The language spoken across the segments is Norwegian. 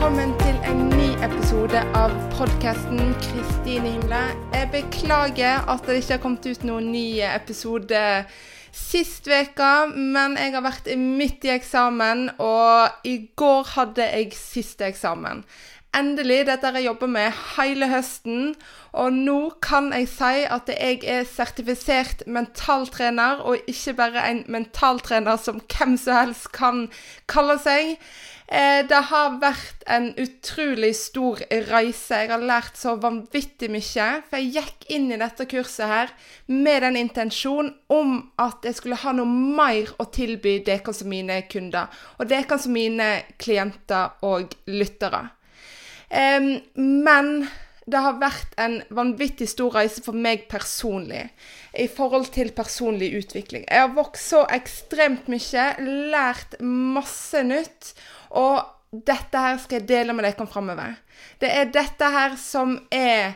velkommen til en ny episode av podcasten Kristine Himle. Jeg beklager at det ikke har kommet ut noen ny episode sist veka, men jeg har vært midt i eksamen, og i går hadde jeg siste eksamen. Endelig, dette har jeg jobbet med hele høsten, og nå kan jeg si at jeg er sertifisert mentaltrener, og ikke bare en mentaltrener som hvem som helst kan kalle seg. Det har vært en utrolig stor reise. Jeg har lært så vanvittig mye, for jeg gikk inn i dette kurset her med den intensjon om at jeg skulle ha noe mer å tilby dere som mine kunder, og dere som mine klienter og lyttere. Men det har vært en vanvittig stor reise for meg personlig i forhold til personlig utvikling. Jeg har vokst så ekstremt mye, lært masse nytt, og dette her skal jeg dele med dere fremover. Det er dette her som er,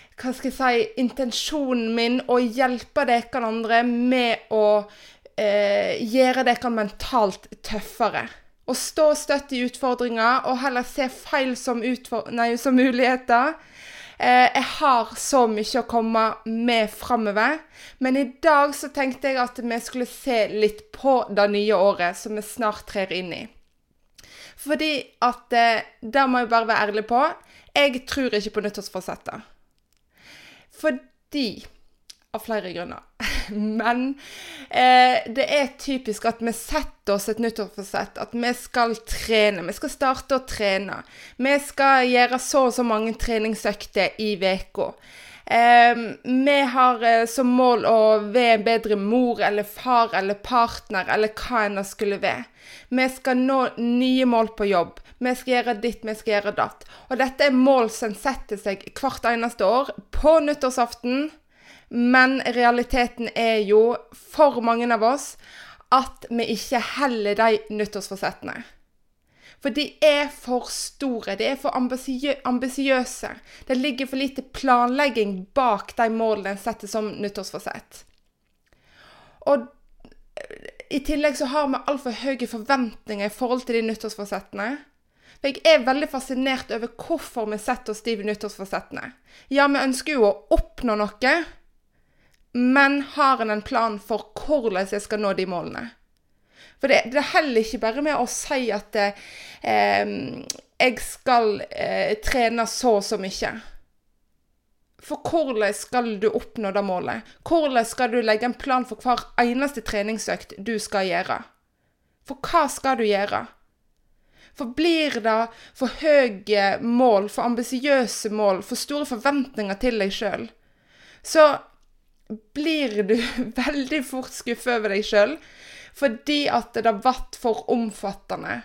intensjonen min, å hjelpe dere andre med å gjøre dere mentalt tøffere. Å stå støtt i utfordringer, og heller se feil som muligheter. Jeg har så mye å komme med fremover, men i dag så tenkte jeg at vi skulle se litt på det nye året som vi snart trer inn i. Fordi at, det må jeg bare være ærlig på, jeg tror ikke på nyttårsforsetter. Fordi, av flere grunner. Men det er typisk at vi setter oss et nyttårsforsett, at vi skal trene, vi skal starte å trene. Vi skal gjøre så og så mange treningsøkter i veka. Vi har som mål å være en bedre mor, eller far, eller partner, eller hva enn det skulle være. Vi skal nå nye mål på jobb. Vi skal gjøre ditt, vi skal gjøre datt. Og dette er mål som setter seg hvert eneste år på nyttårsaften. Men realiteten er jo for mange av oss at vi ikke heller de nyttårsforsettene. For de er for store, de er for ambisiøse. Det ligger for lite planlegging bak de målene en setter som nyttårsforsett. Og i tillegg så har vi alt for høye forventninger i forhold til de nyttårsforsettene. For jeg er veldig fascinert over hvorfor vi setter oss de nyttårsforsettene. Ja, vi ønsker jo å oppnå noe, men har en plan for hvordan jeg skal nå de målene. For det er heller ikke bare med å si at jeg skal trene så og så mye. For hvordan skal du oppnå det målet? Hvordan skal du legge en plan for hver eneste treningsøkt du skal gjøre? For hva skal du gjøre? For blir det for høye mål, for ambisiøse mål, for store forventninger til deg selv, så blir du veldig fort skuffet over deg selv, fordi at det har vært for omfattende.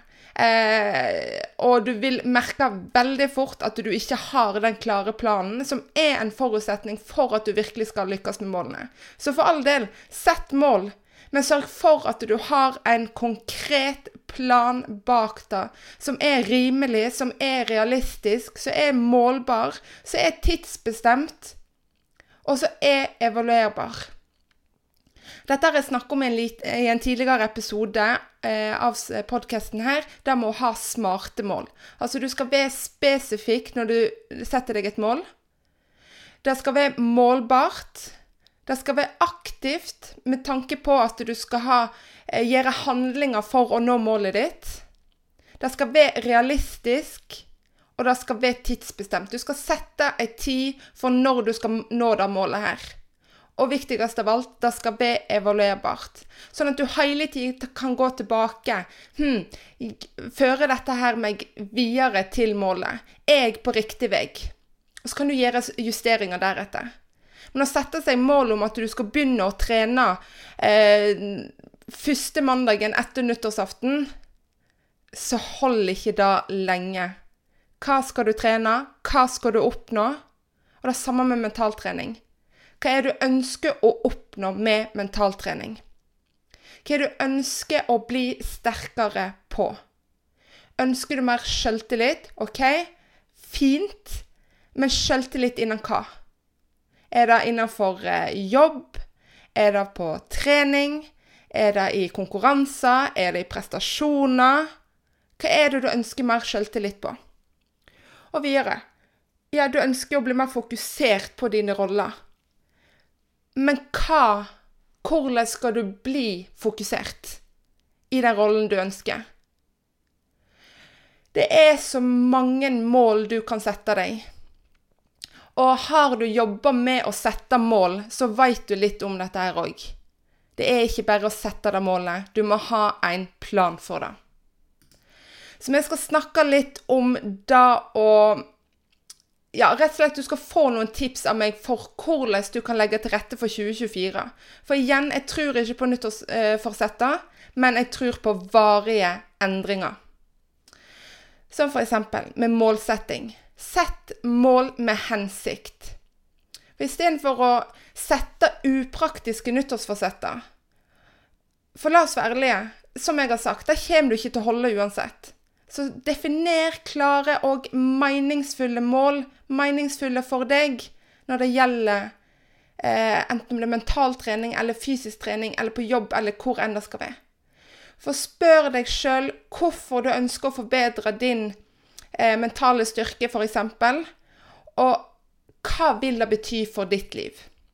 Og du vil merke veldig fort at du ikke har den klare planen, som er en forutsetning for at du virkelig skal lykkes med målene. Så for all del, sett mål, men sørg for at du har en konkret plan bak det, som er rimelig, som er realistisk, som er målbar, som er tidsbestemt, og så er evaluerbar. Dette har jeg snakket om i en tidligere episode av podcasten her, der må ha smarte mål. Altså du skal være spesifikk når du setter deg et mål. Det skal være målbart. Det skal være aktivt med tanke på at du skal gjøre handlinger for å nå målet ditt. Det skal være realistisk. Og det skal være tidsbestemt. Du skal sette en tid for når du skal nå det målet her. Og viktigst av alt, det skal være evaluerbart. Sånn at du hele tiden kan gå tilbake. Fører dette her meg videre til målet? Er jeg på riktig vei? Og så kan du gjøre justeringer deretter. Men å sette seg mål om at du skal begynne å trene første mandagen etter nyttårsaften, så hold ikke det lenge. Hva skal du trene? Hva skal du oppnå? Og det er samme med mentaltrening. Hva er det du ønsker å oppnå med mentaltrening? Hva er det du ønsker å bli sterkere på? Ønsker du mer selvtillit? Ok, fint, men selvtillit innen hva? Er det innenfor jobb? Er det på trening? Er det i konkurranser? Er det i prestasjoner? Hva er det du ønsker mer selvtillit på? Og videre. Ja, du ønsker å bli mer fokusert på dine roller. Men hvordan skal du bli fokusert i den rollen du ønsker? Det så mange mål du kan sette deg. Og har du jobbet med å sette mål, så vet du litt om dette her også. Det ikke bare å sette det målet, du må ha en plan for det. Så vi skal snakke litt om det og rett og slett du skal få noen tips av meg for hvordan du kan legge til rette for 2024. For igjen, jeg tror ikke på nyttårsforsetter, men jeg tror på varige endringer. Som for eksempel med målsetting. Sett mål med hensikt. I stedet for å sette upraktiske nyttårsforsetter. For la oss være ærlige, som jeg har sagt, det kommer du ikke til å holde uansett. Så definer klare og meningsfulle mål, meningsfulle for deg, når det gjelder enten om det mental trening, eller fysisk trening, eller på jobb, eller hvor enn det skal være. For spør deg selv hvorfor du ønsker å forbedre din mentale styrke, for eksempel, og hva vil det bety for ditt liv?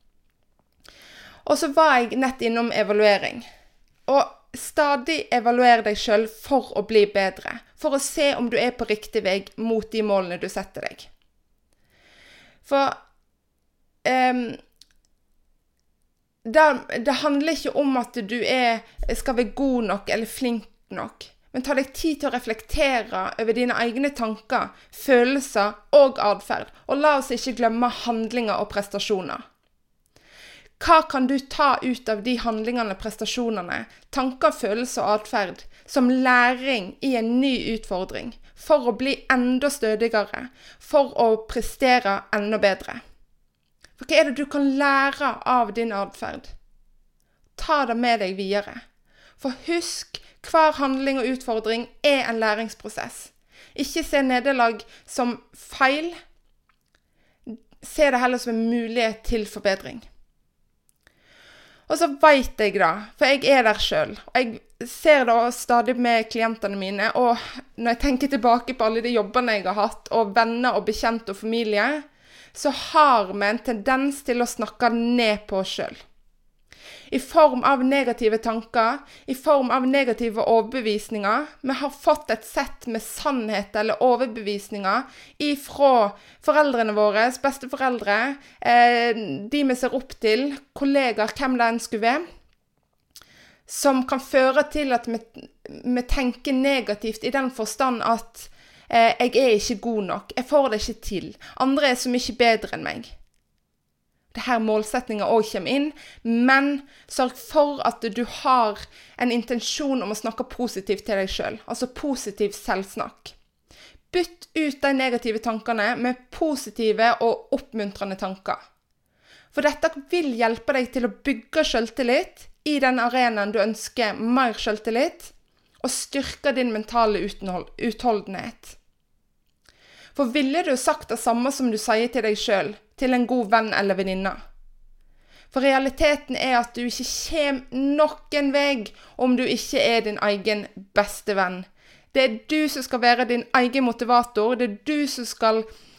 Og så var jeg nett innom evaluering. Og stadig evaluere deg selv for å bli bedre, for å se om du på riktig vei mot de målene du setter deg. For det handler ikke om at du skal være god nok eller flink nok, men ta deg tid til å reflektere over dine egne tanker, følelser og adferd, og la oss ikke glemme handlinger og prestasjoner. Hva kan du ta ut av de handlingene, prestasjonene, tanker, følelser og adferd som læring i en ny utfordring, for å bli enda stødigere, for å prestere enda bedre? For hva det du kan lære av din adferd? Ta det med deg videre. For husk, hver handling og utfordring en læringsprosess. Ikke se nederlag som feil. Se det heller som en mulighet til forbedring. Og så vet jeg da, for jeg der selv, og jeg ser det stadig med klientene mine, og når jeg tenker tilbake på alle de jobbene jeg har hatt, og venner og bekjente og familie, så har vi en tendens til å snakke ned på oss selv. I form av negative tanker, i form av negative overbevisninger. Vi har fått et sett med sannhet eller overbevisninger ifra foreldrene våre, besteforeldre, de vi ser opp til, kollegaer, hvem det enn skulle være, som kan føre til at vi tenker negativt i den forstand at jeg ikke god nok, jeg får det ikke til, andre så mye bedre enn meg. Det her målsetninger også kommer inn, men sørg for at du har en intensjon om å snakke positivt til deg selv, altså positiv selvsnakk. Bytt ut de negative tankene med positive og oppmuntrende tanker. For dette vil hjelpe deg til å bygge selvtillit i den arenaen du ønsker mer selvtillit, og styrke din mentale utholdenhet. For ville du sagt det samme som du sier til deg selv, til en god venn eller venninne? For realiteten at du ikke kommer noen vei om du ikke din egen beste venn. Det du som skal være din egen motivator, det du som skal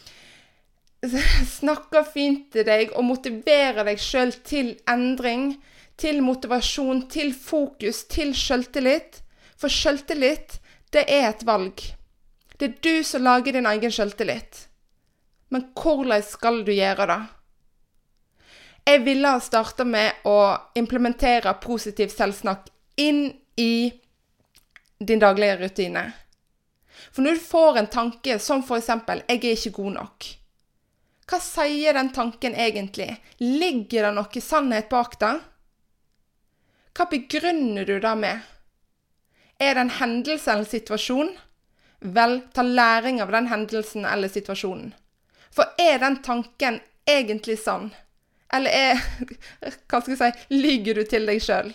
snakke fint til deg og motivere deg selv til endring, til motivasjon, til fokus, til selvtillit. For selvtillit, det et valg. Det du som lager din egen selvtillit. Men hvordan skal du gjøre det? Jeg ville ha startet med å implementere positiv selvsnakk inn i din daglige rutine. For når du får en tanke som for eksempel, jeg ikke god nok. Hva sier den tanken egentlig? Ligger det noe sannhet bak det? Hva begrunner du det med? Det en hendelse eller situasjon? Vel, ta læring av den hendelsen eller situasjonen. For den tanken egentlig sann? Eller hva skal jeg si, lyger du til deg selv?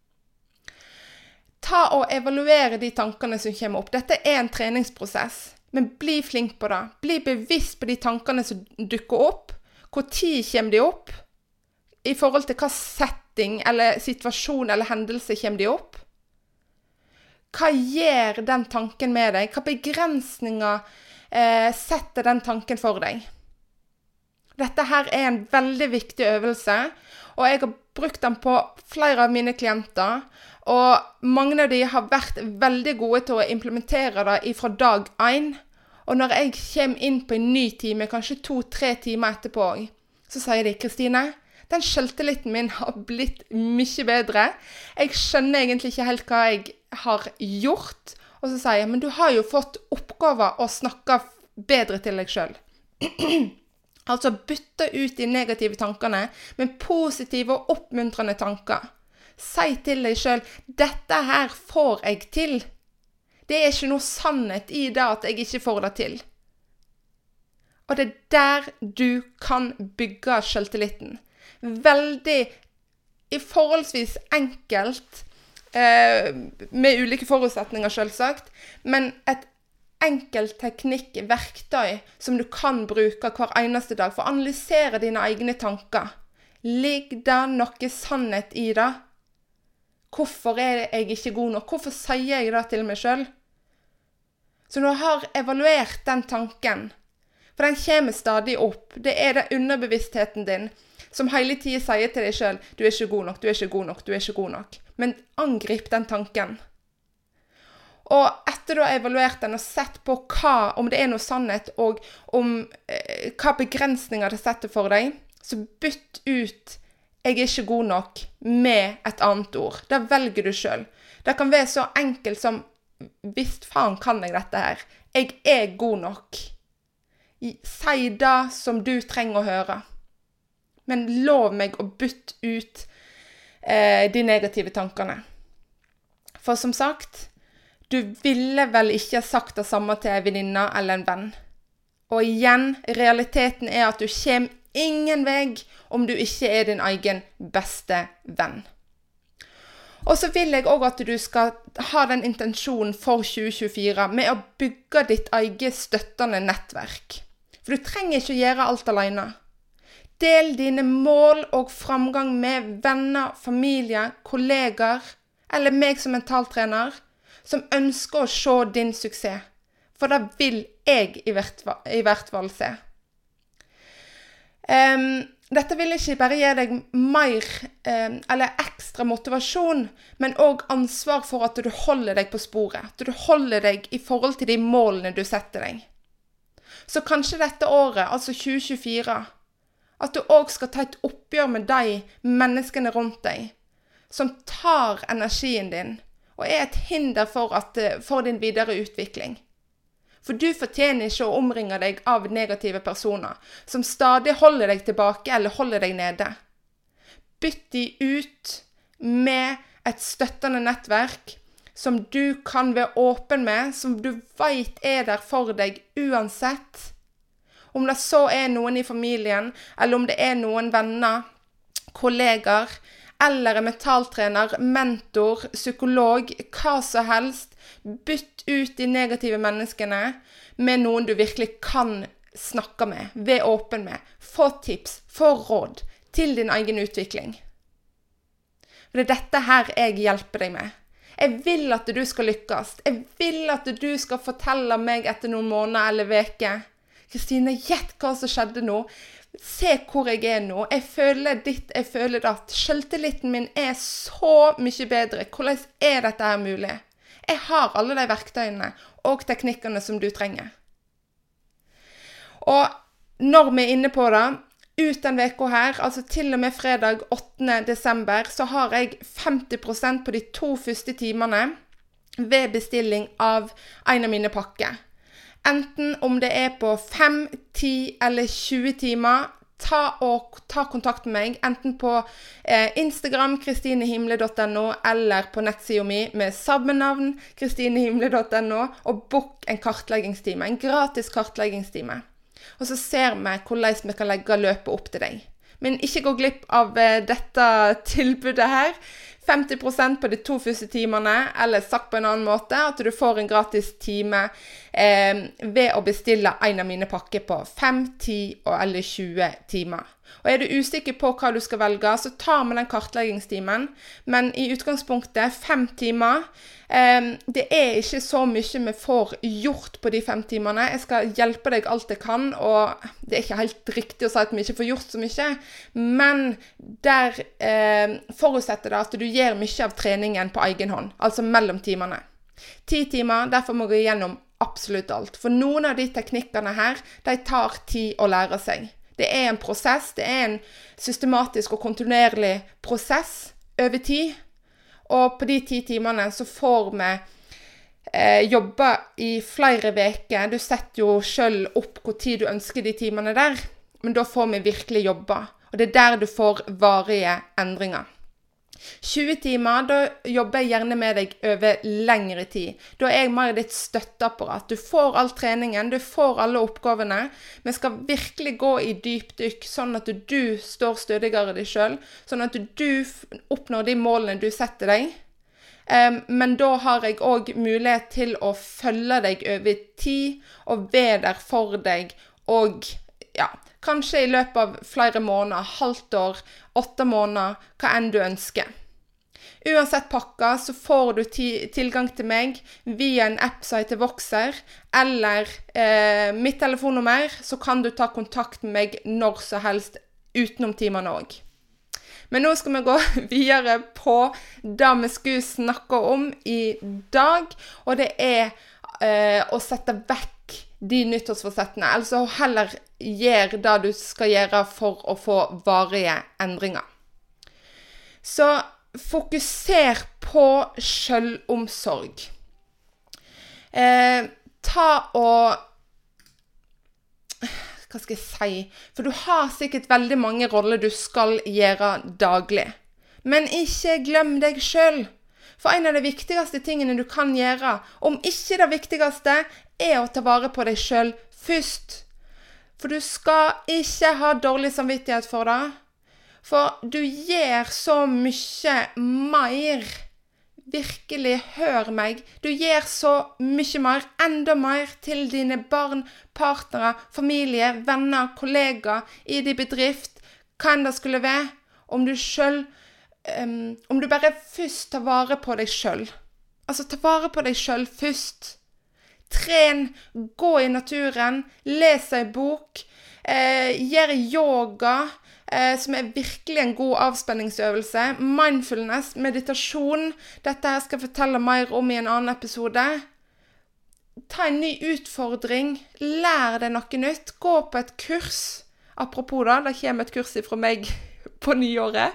Ta og evaluere de tankene som kommer opp. Dette en treningsprosess, men bli flink på det. Bli bevisst på de tankene som dukker opp. Hvor tid kommer de opp? I forhold til hva setting eller situasjon eller hendelse kommer de opp? Hva gjør den tanken med deg? Hva begrensninger setter den tanken for deg. Dette her en veldig viktig øvelse, og jeg har brukt den på flere av mine klienter, og mange av de har vært veldig gode til å implementere det fra dag 1. Og når jeg kommer inn på en ny time, kanskje 2-3 timer etterpå, så sier de, Kristine, den selvtilliten min har blitt mye bedre. Jeg skjønner egentlig ikke helt hva jeg har gjort. Og så sier jeg, men du har jo fått oppgaver å snakke bedre til deg selv. Altså bytte ut de negative tankene med positive og oppmuntrende tanker. Si til deg selv, dette her får jeg til. Det er ikke noe sannhet i det at jeg ikke får det til. Og det er der du kan bygge selvtilliten. Veldig, i forholdsvis enkelt, med ulike forutsetninger selvsagt, men et enkelt teknikk, verktøy som du kan bruke hver eneste dag for å analysere dine egne tanker. Ligger det noe sannhet i det? Hvorfor er jeg ikke god nok? Hvorfor sier jeg det til meg selv? Så når du har evaluert den tanken, for den kommer stadig opp, det er det underbevisstheten din som hele tiden sier til deg selv, du er ikke god nok, du er ikke god nok, du er ikke god nok. Men angrip den tanken. Og etter du har evaluert den og sett på om det er noe sannhet, og om hva begrensninger det setter for deg, så bytt ut jeg er ikke god nok med et annet ord. Da velger du selv. Det kan være så enkelt som, visst faen kan jeg dette her. Jeg er god nok. Si det som du trenger å høre. Men lov meg å bytte ut de negative tankene. For som sagt, du ville vel ikke ha sagt det samme til en venninne eller en venn. Og igjen, realiteten er at du kommer ingen vei om du ikke er din egen beste venn. Og så vil jeg også at du skal ha den intensjonen for 2024 med å bygge ditt eget støttende nettverk. For du trenger ikke gjøre alt alene. Del dine mål og framgang med venner, familie, kolleger, eller meg som mentaltrener, som ønsker å se din suksess. For det vil jeg i hvert fall se. Dette vil ikke bare gi deg mer eller ekstra motivasjon, men også ansvar for at du holder deg på sporet. At du holder deg i forhold til de målene du setter deg. Så kanskje dette året, altså 2024, at du også skal ta et oppgjør med de menneskene rundt deg, som tar energien din, og er et hinder for din videre utvikling. For du fortjener ikke å omringe deg av negative personer, som stadig holder deg tilbake eller holder deg nede. Bytt de ut med et støttende nettverk, som du kan være åpen med, som du vet er der for deg uansett. Om det så er noen i familien, eller om det er noen venner, kolleger, eller en mentaltrener, mentor, psykolog, hva som helst. Bytt ut de negative menneskene med noen du virkelig kan snakke med, være åpen med. Få tips, få råd til din egen utvikling. For det er dette her jeg hjelper deg med. Jeg vil at du skal lykkes. Jeg vil at du skal fortelle meg etter noen måneder eller veker. Kristine, gjett hva som skjedde nå. Se hvor jeg er nå. Jeg føler ditt, jeg føler datt. Selvtilliten min er så mye bedre. Hvordan er dette her mulig? Jeg har alle de verktøyene og teknikkene som du trenger. Og når vi er inne på det, ut den veka her, altså til og med fredag 8. desember, så har jeg 50% på de 2 første timene ved bestilling av en av mine pakker. Enten om det er på 5, 10 eller 20 timer, ta kontakt med meg, enten på Instagram, kristinehimle.no, eller på nettsida mi med samme navn, kristinehimle.no, og book en kartleggingstime, en gratis kartleggingstime. Og så ser vi hvordan vi kan legge løpet opp til deg. Men ikke gå glipp av dette tilbudet her. 50% på de 2 første timene, eller sagt på en annen måte, at du får en gratis time ved å bestille en av mine pakker på 5, 10 eller 20 timer. Og du usikker på hva du skal velge, så ta med den kartleggingstimen. Men i utgangspunktet 5 timer. Det ikke så mye vi får gjort på de 5 timene. Jeg skal hjelpe deg alt jeg kan, og det ikke helt riktig å si at vi ikke får gjort så mye. Men der forutsetter det at du gjør mye av treningen på egen hånd, altså mellom timene. 10 timer, derfor må vi gjennom absolutt alt. For noen av de teknikkene her, de tar tid å lære seg. Det en prosess, det en systematisk og kontinuerlig prosess over tid. Og på de 10 timene så får vi jobbe i flere veker. Du setter jo selv opp hvor tid du ønsker de timene der, men da får vi virkelig jobbe. Og det der du får varige endringer. 20 timer, da jobber jeg gjerne med deg over lengre tid. Da jeg mer ditt støtteapparat. Du får all treningen, du får alle oppgavene. Vi skal virkelig gå i dypdykk, sånn at du står stødigere deg selv, sånn at du oppnår de målene du setter deg. Men da har jeg også mulighet til å følge deg over tid, og være der for deg, og kanskje i løpet av flere måneder, halvt år, 8 måneder, hva enn du ønsker. Uansett pakka, så får du tilgang til meg via en app som heter Voxer, eller mitt telefonnummer, så kan du ta kontakt med meg når som helst, utenom timene også. Men nå skal vi gå videre på det vi skulle snakke om i dag, og det å sette vekk de nyttårsforsettene, altså heller gjøre det du skal gjøre for å få varige endringer. Så fokuser på selvomsorg. Hva skal jeg si? For du har sikkert veldig mange roller du skal gjøre daglig. Men ikke glem deg selv. For en av de viktigste tingene du kan gjøre, om ikke det viktigste, å ta vare på deg selv først. For du skal ikke ha dårlig samvittighet for det. For du gjør så mye mer. Virkelig, hør meg. Du gjør så mye mer, enda mer til dine barn, partnere, familie, venner, kollegaer, i din bedrift, hva enn det skulle være, om du bare først tar vare på deg selv. Altså, ta vare på deg selv først. Tren, gå i naturen, les en bok, gjør yoga, som virkelig en god avspenningsøvelse. Mindfulness, meditasjon. Dette her skal jeg fortelle mer om i en annen episode. Ta en ny utfordring. Lær deg noe nytt. Gå på et kurs. Apropos da, det kommer et kurs fra meg på nyåret.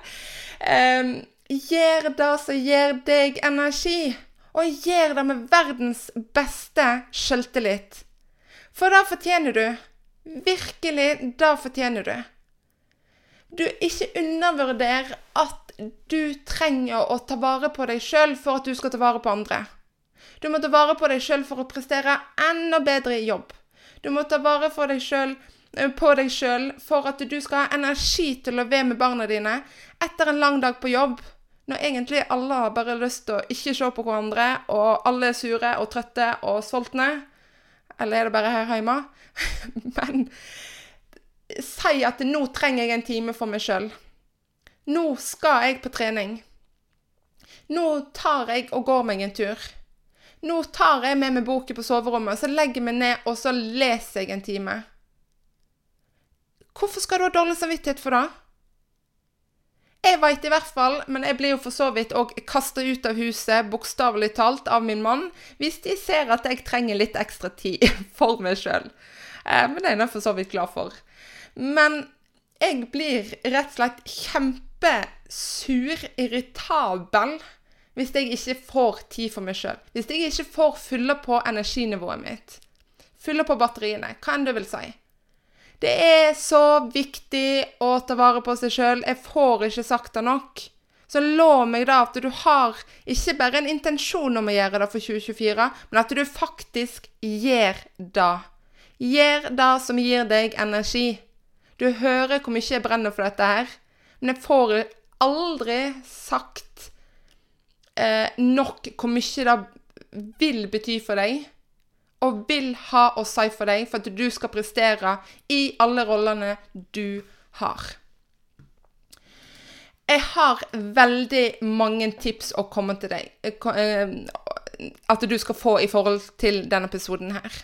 Gjør det som gir deg energi. Og gjør det med verdens beste selvtillit. For da fortjener du. Virkelig, da fortjener du. Du ikke undervurder at du trenger å ta vare på deg selv for at du skal ta vare på andre. Du må ta vare på deg selv for å prestere enda bedre i jobb. Du må ta vare på deg selv for at du skal ha energi til å være med barna dine etter en lang dag på jobb, når egentlig alle har bare lyst til å ikke se på hverandre, og alle sure og trøtte og sultne. Eller det bare her hjemme? Men si at nå trenger jeg en time for meg selv. Nå skal jeg på trening. Nå tar jeg og går meg en tur. Nå tar jeg med meg boken på soverommet, så legger jeg meg ned, og så leser jeg en time. Hvorfor skal du ha dårlig samvittighet for det? Jeg vet i hvert fall, men jeg blir jo for så vidt også kastet ut av huset, bokstavelig talt, av min mann, hvis de ser at jeg trenger litt ekstra tid for meg selv. Men det er jeg for så vidt glad for. Men jeg blir rett og slett kjempesur, irritabel, hvis jeg ikke får tid for meg selv. Hvis jeg ikke får fylle på energinivået mitt. Fylle på batteriene, hva enn det vil si. Det er så viktig å ta vare på seg selv. Jeg får ikke sagt det nok. Så lov meg da at du har ikke bare en intensjon om å gjøre det for 2024, men at du faktisk gjør det. Gjør det som gir deg energi. Du hører hvor mye jeg brenner for dette her, men jeg får aldri sagt nok hvor mye det vil bety for deg, og vil ha å si for deg, for at du skal prestere i alle rollene du har. Jeg har veldig mange tips å komme til deg, at du skal få i forhold til denne episoden her.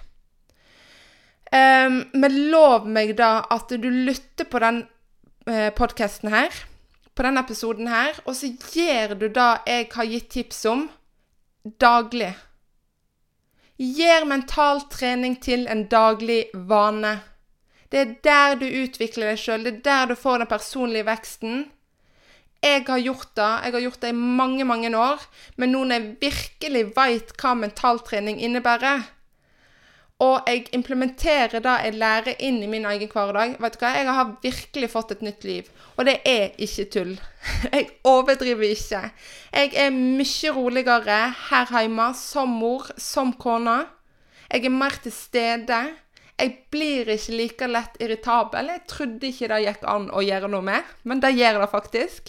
Men lov meg da at du lytter på den podcasten her, på denne episoden her, og så gjør du da jeg har gitt tips om daglig. Gjør mental trening til en daglig vane. Det der du utvikler deg selv, det der du får den personlige veksten. Jeg har gjort det i mange, mange år, men nå når jeg virkelig vet hva mentaltrening innebærer, og jeg implementerer det jeg lærer inn i min egen hverdag, vet du hva, jeg har virkelig fått et nytt liv, og det er ikke tull. Jeg overdriver ikke. Jeg mye roligere her hjemme, som mor, som kone. Jeg mer til stede. Jeg blir ikke like lett irritabel. Jeg trodde ikke det gikk an å gjøre noe med, men det gjør det faktisk.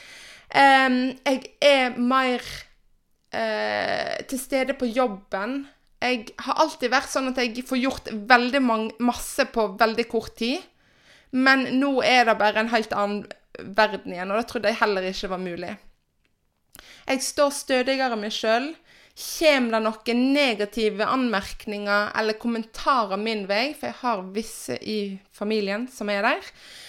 Jeg mer til stede på jobben. Jeg har alltid vært sånn at jeg får gjort veldig masse på veldig kort tid, men nå det bare en helt annen verden igjen, og det trodde jeg heller ikke var mulig. Jeg står stødigere meg selv. Kommer det noen negative anmerkninger eller kommentarer min vei, for jeg har visse i familien som der,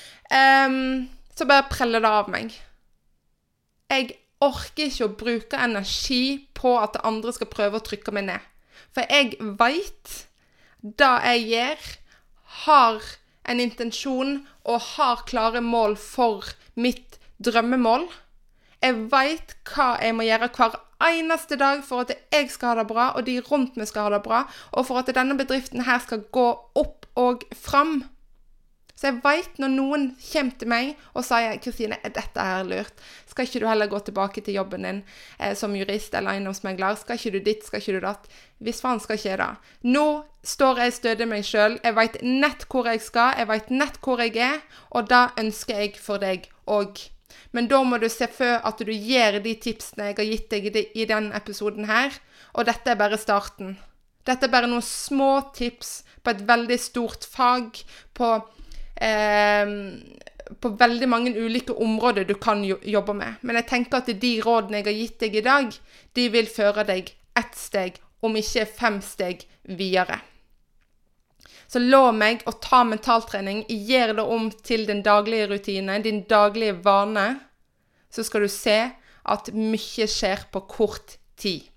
så bare preller det av meg. Jeg orker ikke å bruke energi på at andre skal prøve å trykke meg ned. For jeg vet det jeg gjør, har en intensjon og har klare mål for mitt drømmemål. Jeg vet hva jeg må gjøre hver eneste dag for at jeg skal ha det bra, og de rundt meg skal ha det bra, og for at denne bedriften her skal gå opp og fram. Så jeg vet når noen kommer til meg og sier, Kristine, dette her lurt? Skal ikke du heller gå tilbake til jobben din som jurist eller eiendomsmegler? Skal ikke du dit, skal ikke du datt? Hvis faen skal ikke jeg da. Nå står jeg stødig meg selv. Jeg vet nett hvor jeg skal, jeg vet nett hvor jeg og det ønsker jeg for deg også. Men da må du se for at du gjør de tipsene jeg har gitt deg i denne episoden her, og dette bare starten. Dette bare noen små tips på et veldig stort fag, på veldig mange ulike områder du kan jobbe med. Men jeg tenker at de rådene jeg har gitt deg i dag, de vil føre deg ett steg, om ikke 5 steg videre. Så lov meg å ta mentaltrening, gjør det om til din daglige rutine, din daglige vane, så skal du se at mye skjer på kort tid.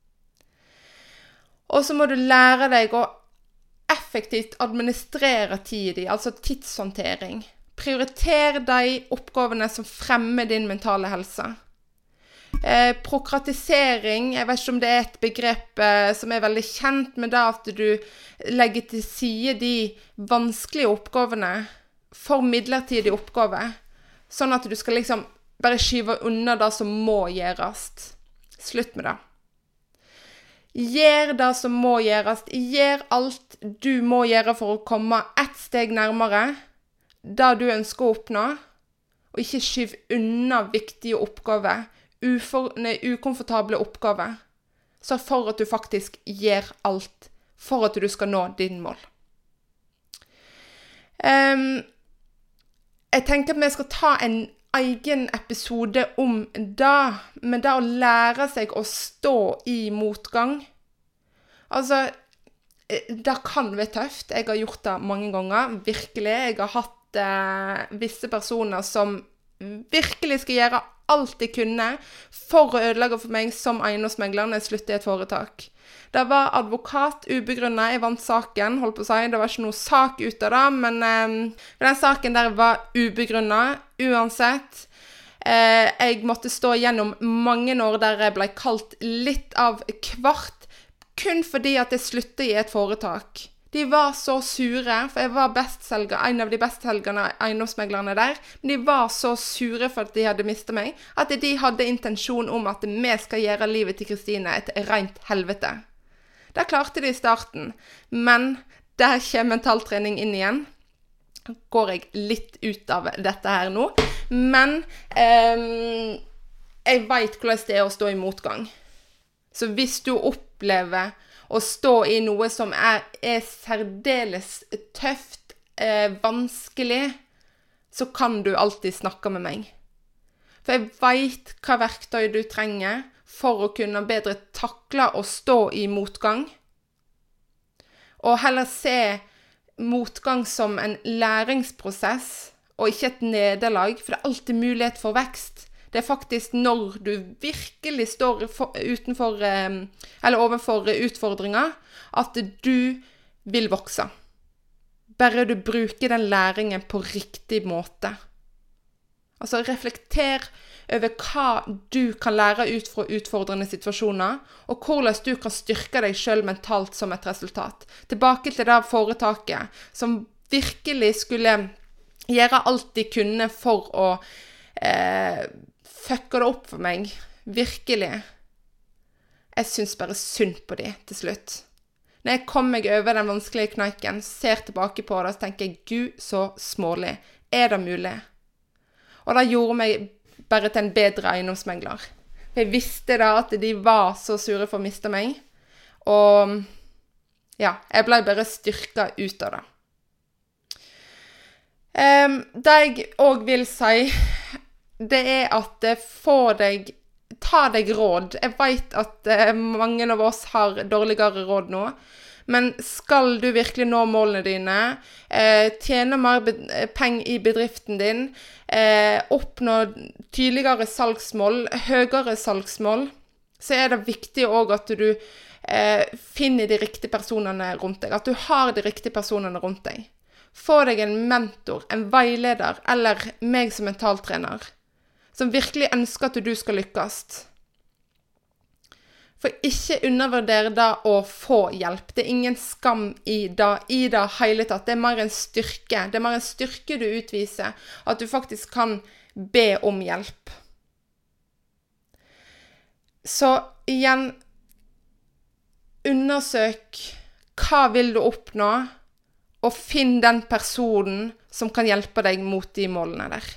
Og så må du lære deg å effektivt administrere tiden, altså tidshåndtering. Prioriter de oppgavene som fremmer din mentale helse. Prokratisering, jeg vet ikke om det et begrep som veldig kjent, men det at du legger til side de vanskelige oppgavene for midlertidige oppgaver, sånn at du skal liksom bare skyve unna det som må gjøres. Slutt med det. Gjør det som må gjøres. Gjør alt du må gjøre for å komme ett steg nærmere det du ønsker å oppnå, og ikke skyv unna viktige oppgaver, ukomfortable oppgaver, så for at du faktisk gjør alt for at du skal nå din mål. Jeg tenker at vi skal ta en egen episode om det, men det å lære seg å stå i motgang. Altså, det kan være tøft. Jeg har gjort det mange ganger, virkelig. Jeg har hatt visse personer som virkelig skal gjøre alt de kunne for å ødelegge for meg som eiendomsmegler når jeg sluttet i et foretak. Det var advokat ubegrunnet, jeg vant saken, holdt på å si. Det var ikke noe sak ut av det, men den saken der var ubegrunnet, uansett. Jeg måtte stå gjennom mange år der jeg ble kalt litt av hvert, kun fordi at jeg sluttet i et foretak. De var så sure, for jeg var bestselger, en av de bestselgerne eiendomsmeglerne der, men de var så sure for at de hadde mistet meg, at de hadde intensjon om at vi skal gjøre livet til Kristine et rent helvete. Det klarte de i starten, men der kommer mentaltrening inn igjen. Går jeg litt ut av dette her nå, men jeg vet hvordan det å stå i motgang. Så hvis du opplever å stå i noe som særdeles tøft, vanskelig, så kan du alltid snakke med meg. For jeg vet hva verktøy du trenger for å kunne bedre takle og stå i motgang. Og heller se motgang som en læringsprosess, og ikke et nederlag, for det er alltid mulighet for vekst. Det er faktisk når du virkelig står overfor utfordringer, at du vil vokse. Bare du bruker den læringen på riktig måte. Altså reflekter over hva du kan lære ut fra utfordrende situasjoner, og hvordan du kan styrke deg selv mentalt som et resultat. Tilbake til det foretaket som virkelig skulle gjøre alt de kunne for å fucke det opp for meg. Virkelig. Jeg synes bare synd på de til slutt. Når jeg kom meg over den vanskelige kneiken, ser tilbake på det, så tenker jeg, Gud, så smålig. Er det mulig? Og det gjorde meg bare til en bedre eiendomsmegler. Jeg visste da at de var så sure for å miste meg. Og ja, jeg ble bare styrket ut av det. Det jeg også vil si, det er at ta deg råd. Jeg vet at mange av oss har dårligere råd nå, men skal du virkelig nå målene dine, tjene mer penger i bedriften din, oppnå tydeligere salgsmål, høyere salgsmål, så er det viktig også at du finner de riktige personene rundt deg, at du har de riktige personene rundt deg. Få deg en mentor, en veileder, eller meg som mentaltrener, som virkelig ønsker at du skal lykkes. For ikke undervurder det å få hjelp. Det er ingen skam i det hele tatt. Det er mer en styrke. Det er mer en styrke du utviser, at du faktisk kan be om hjelp. Så igjen, undersøk hva vil du oppnå, og finn den personen som kan hjelpe deg mot de målene der.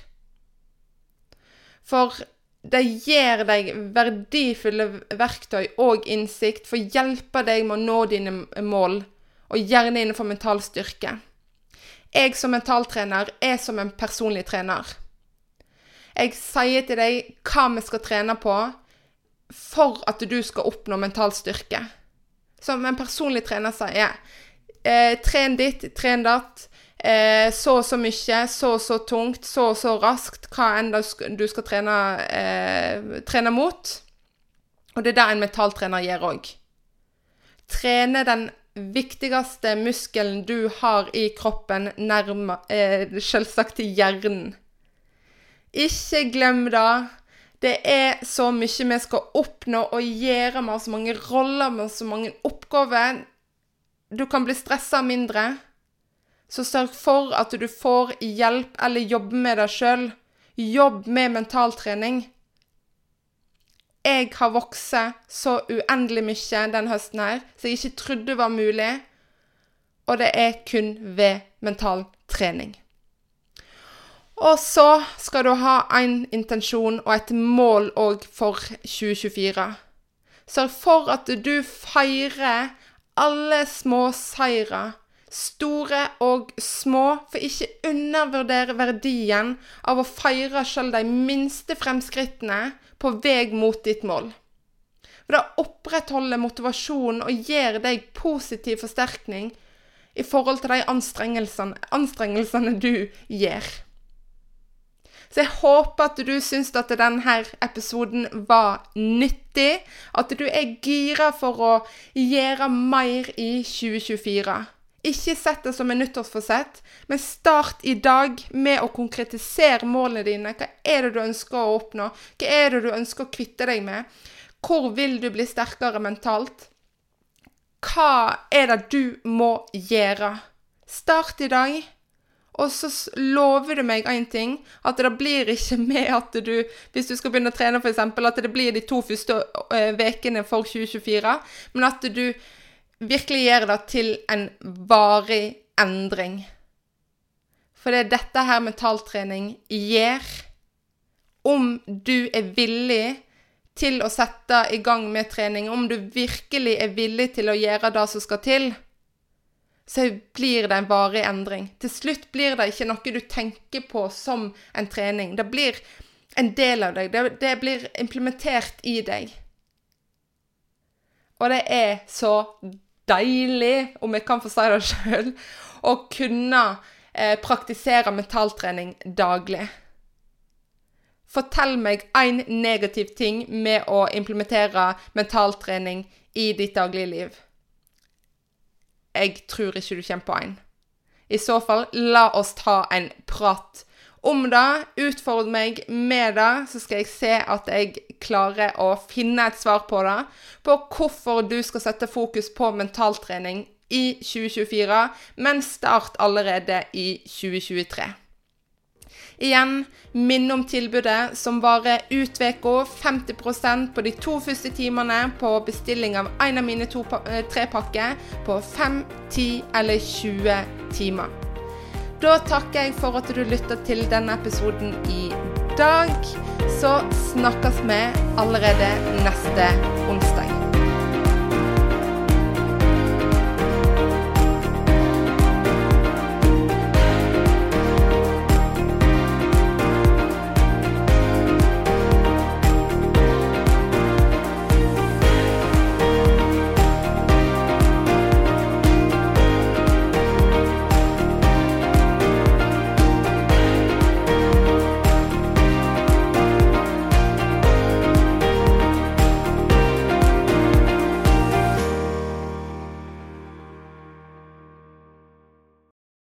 For det gir deg verdifulle verktøy og innsikt for å hjelpe deg med å nå dine mål, og gjerne innenfor mental styrke. Jeg som mentaltrener er som en personlig trener. Jeg sier til deg hva vi skal trene på for at du skal oppnå mental styrke. Som en personlig trener sier, tren ditt, tren datt, så mye, så tungt, så raskt, hva enn du skal trene mot. Og det er det en mentaltrener gjør også. Trene den viktigste muskelen du har i kroppen, selvsagt til hjernen. Ikke glem det. Det er så mye vi skal oppnå og gjøre med så mange roller, med så mange oppgaver. Du kan bli stresset mindre, så sørg for at du får hjelp eller jobbe med deg selv. Jobb med mentaltrening. Jeg har vokst så uendelig mye den høsten her, så jeg ikke trodde var mulig, og det er kun ved mentaltrening. Og så skal du ha en intensjon og et mål også for 2024. Sørg for at du feirer alle små seirer, store og små, for ikke undervurdere verdien av å feire selv de minste fremskrittene på vei mot ditt mål. For det opprettholder motivasjonen og gir deg positiv forsterkning i forhold til de anstrengelsene du gjør. Så jeg håper at du synes at denne episoden var nyttig, at du er gira for å gjøre mer i 2024. Ikke sett det som en nyttårsforsett, men start i dag med å konkretisere målene dine. Hva er det du ønsker å oppnå? Hva er det du ønsker å kvitte deg med? Hvor vil du bli sterkere mentalt? Hva er det du må gjøre? Start i dag. Og så lover du meg en ting, at det blir ikke med at du, hvis du skal begynne å trene for eksempel, at det blir de 2 første vekene for 2024, men at du virkelig gjør det til en varig endring. For det er dette her mentaltrening gjør. Om du er villig til å sette i gang med trening, om du virkelig er villig til å gjøre det som skal til, så blir det en varig endring. Til slutt blir det ikke noe du tenker på som en trening. Det blir en del av deg. Det blir implementert i deg. Og det så deilig, om jeg kan få si det selv, å kunne praktisere mentaltrening daglig. Fortell meg en negativ ting med å implementere mentaltrening i ditt daglige liv. Jeg tror ikke du kommer på en. I så fall, la oss ta en prat om det. Utfordre meg med det, så skal jeg se at jeg klarer å finne et svar på det. På hvorfor du skal sette fokus på mentaltrening i 2024, men start allerede i 2023. Igjen, minn om tilbudet som varer ut veka, 50% på de 2 første timene på bestilling av en av mine 3 pakker på 5, 10 eller 20 timer. Da takker jeg for at du lyttet til denne episoden i dag. Så snakkes vi allerede neste